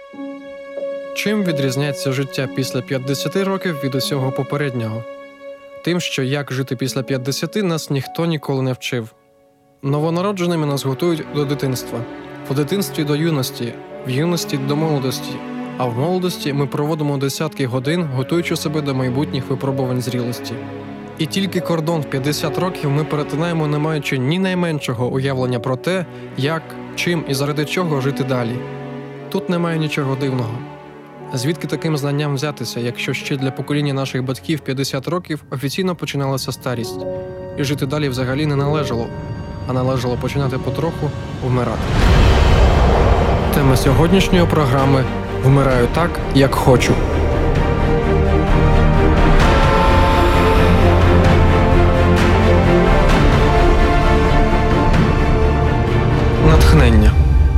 Чим відрізняється життя після 50 років від усього попереднього? Тим, що як жити після 50 нас ніхто ніколи не вчив. Новонародженими нас готують до дитинства, в дитинстві до юності, в юності до молодості, а в молодості ми проводимо десятки годин, готуючи себе до майбутніх випробувань зрілості. І тільки кордон в 50 років ми перетинаємо, не маючи ні найменшого уявлення про те, як, чим і заради чого жити далі. Тут немає нічого дивного. Звідки таким знанням взятися, якщо ще для покоління наших батьків 50 років офіційно починалася старість, і жити далі взагалі не належало, а належало починати потроху вмирати. Тема сьогоднішньої програми «Вмираю так, як хочу». Натхнення.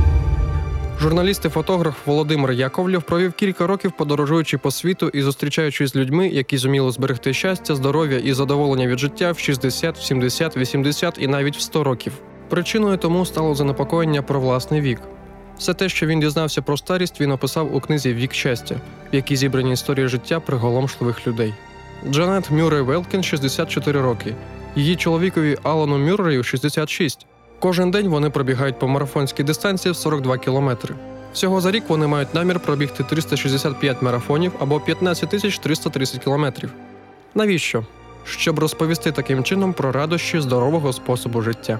Журналіст і фотограф Володимир Яковлєв провів кілька років, подорожуючи по світу і зустрічаючись з людьми, які зуміли зберегти щастя, здоров'я і задоволення від життя в 60, 70, 80 і навіть в 100 років. Причиною тому стало занепокоєння про власний вік. Все те, що він дізнався про старість, він описав у книзі «Вік щастя», в якій зібрані історії життя приголомшливих людей. Джанет Мюррей Велкін – 64 роки. Її чоловікові Алану Мюррею – 66. Кожен день вони пробігають по марафонській дистанції в 42 кілометри. Всього за рік вони мають намір пробігти 365 марафонів або 15 330 кілометрів. Навіщо? Щоб розповісти таким чином про радощі здорового способу життя.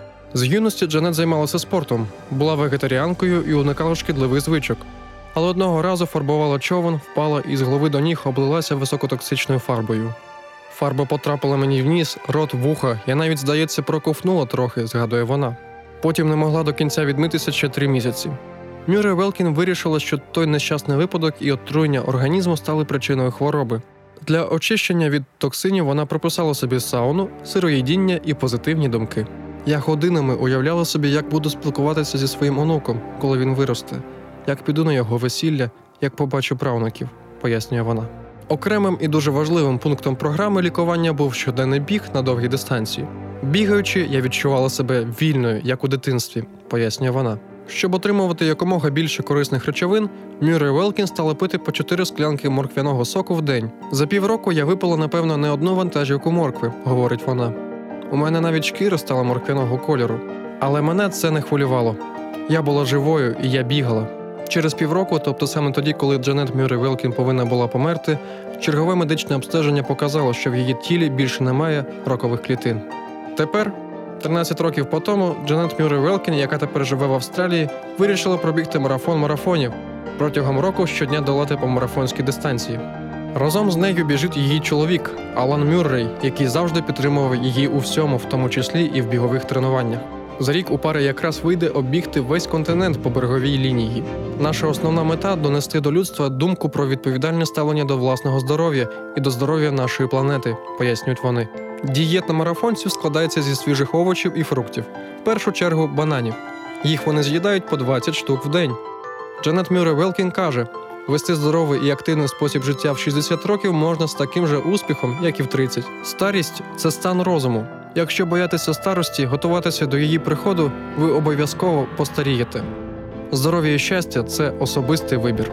З юності Джанет займалася спортом, була вегетаріанкою і уникала шкідливих звичок. Але одного разу фарбувала човен, впала і з голови до ніг облилася високотоксичною фарбою. Фарба потрапила мені в ніс, рот, вуха, я навіть, здається, проковтнула трохи, згадує вона. Потім не могла до кінця відмитися ще 3 місяці. Мюррей Велкін вирішила, що той нещасний випадок і отруєння організму стали причиною хвороби. Для очищення від токсинів вона прописала собі сауну, сироїдіння і позитивні думки. Я годинами уявляла собі, як буду спілкуватися зі своїм онуком, коли він виросте, як піду на його весілля, як побачу правнуків, пояснює вона. Окремим і дуже важливим пунктом програми лікування був щоденний біг на довгій дистанції. Бігаючи, я відчувала себе вільною, як у дитинстві, пояснює вона. Щоб отримувати якомога більше корисних речовин, Мюррей Велкін стала пити по 4 склянки морквяного соку в день. За півроку я випила, напевно, не одну вантажівку моркви, говорить вона. У мене навіть шкіра стала морквяного кольору. Але мене це не хвилювало. Я була живою і я бігала. Через півроку, тобто саме тоді, коли Джанет Мюррей Велкін повинна була померти, чергове медичне обстеження показало, що в її тілі більше немає ракових клітин. Тепер, 13 років по тому, Джанет Мюррей Велкін, яка тепер живе в Австралії, вирішила пробігти марафон марафонів, протягом року щодня долати по марафонській дистанції. Разом з нею біжить її чоловік, Алан Мюррей, який завжди підтримував її у всьому, в тому числі і в бігових тренуваннях. За рік у пари якраз вийде оббігти весь континент по береговій лінії. Наша основна мета – донести до людства думку про відповідальне ставлення до власного здоров'я і до здоров'я нашої планети, пояснюють вони. Дієта марафонців складається зі свіжих овочів і фруктів. В першу чергу бананів. Їх вони з'їдають по 20 штук в день. Джанет Мюррей Велкін каже, вести здоровий і активний спосіб життя в 60 років можна з таким же успіхом, як і в 30. Старість – це стан розуму. Якщо боятися старості, готуватися до її приходу, ви обов'язково постарієте. Здоров'я і щастя – це особистий вибір.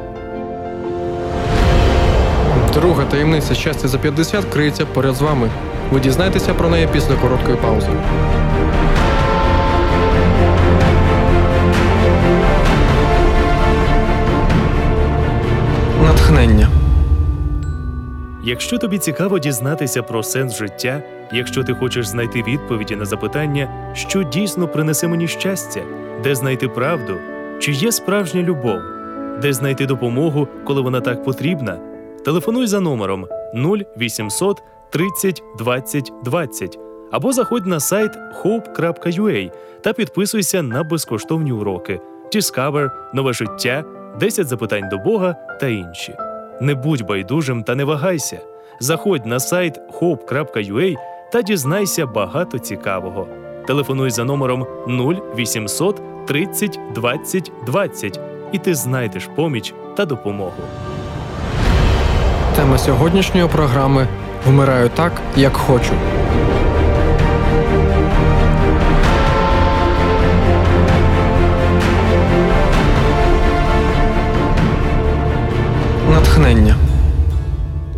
Друга таємниця щастя за 50 криється поряд з вами. Ви дізнаєтеся про неї після короткої паузи. Натхнення. Якщо тобі цікаво дізнатися про сенс життя, якщо ти хочеш знайти відповіді на запитання, що дійсно принесе мені щастя, де знайти правду, чи є справжня любов, де знайти допомогу, коли вона так потрібна, телефонуй за номером 0800 30 20 20 або заходь на сайт hope.ua та підписуйся на безкоштовні уроки Discover, Нове життя, 10 запитань до Бога та інші. Не будь байдужим та не вагайся. Заходь на сайт hope.ua та дізнайся багато цікавого. Телефонуй за номером 0800 30 20 20 і ти знайдеш поміч та допомогу. Тема сьогоднішньої програми «Вмираю так, як хочу».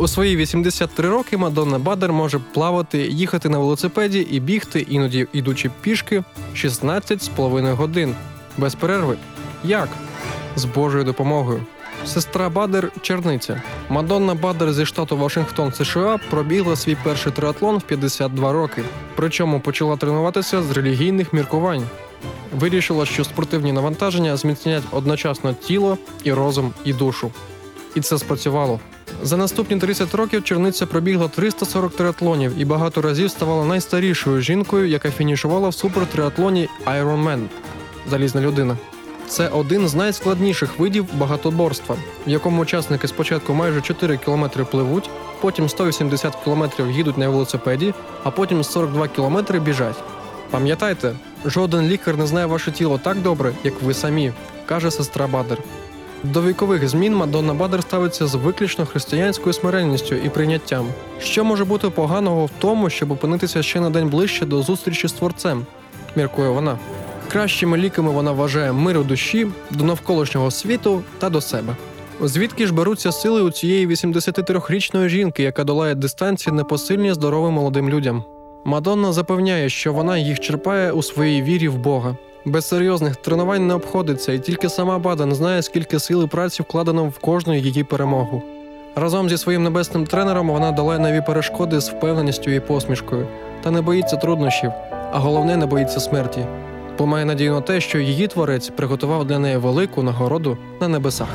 У свої 83 роки Мадонна Бадер може плавати, їхати на велосипеді і бігти, іноді ідучи пішки, 16,5 годин. Без перерви. Як? З Божою допомогою. Сестра Бадер – черниця. Мадонна Бадер зі штату Вашингтон, США, пробігла свій перший триатлон в 52 роки. Причому почала тренуватися з релігійних міркувань. Вирішила, що спортивні навантаження зміцнять одночасно тіло, і розум, і душу. І це спрацювало. За наступні 30 років черниця пробігла 340 триатлонів і багато разів ставала найстарішою жінкою, яка фінішувала в супертриатлоні Ironman – залізна людина. Це один з найскладніших видів багатоборства, в якому учасники спочатку майже 4 кілометри пливуть, потім 180 кілометрів їдуть на велосипеді, а потім 42 кілометри біжать. Пам'ятайте, жоден лікар не знає ваше тіло так добре, як ви самі, каже сестра Бадер. До вікових змін Мадонна Бадер ставиться з виключно християнською смиренністю і прийняттям. Що може бути поганого в тому, щоб опинитися ще на день ближче до зустрічі з Творцем, міркує вона. Кращими ліками вона вважає мир у душі, до навколишнього світу та до себе. Звідки ж беруться сили у цієї 83-річної жінки, яка долає дистанції непосильні здоровим молодим людям? Мадонна запевняє, що вона їх черпає у своїй вірі в Бога. Без серйозних тренувань не обходиться, і тільки сама Баден знає, скільки сил і праці вкладено в кожну її перемогу. Разом зі своїм небесним тренером вона долає нові перешкоди з впевненістю і посмішкою. Та не боїться труднощів, а головне – не боїться смерті. Бо має надію на те, що її Творець приготував для неї велику нагороду на небесах.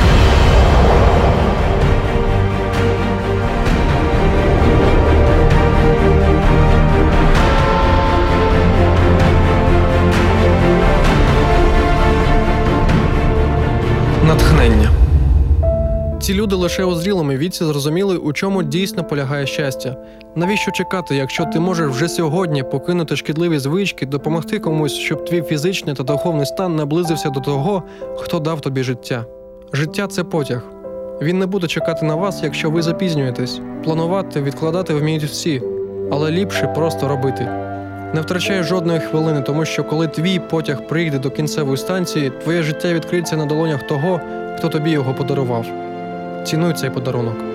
Натхнення. Ці люди лише у зрілому віці зрозуміли, у чому дійсно полягає щастя. Навіщо чекати, якщо ти можеш вже сьогодні покинути шкідливі звички, допомогти комусь, щоб твій фізичний та духовний стан наблизився до того, хто дав тобі життя? Життя – це потяг. Він не буде чекати на вас, якщо ви запізнюєтесь. Планувати, відкладати вміють всі, але ліпше просто робити. Не втрачай жодної хвилини, тому що коли твій потяг прийде до кінцевої станції, твоє життя відкриється на долонях того, хто тобі його подарував. Цінуй цей подарунок.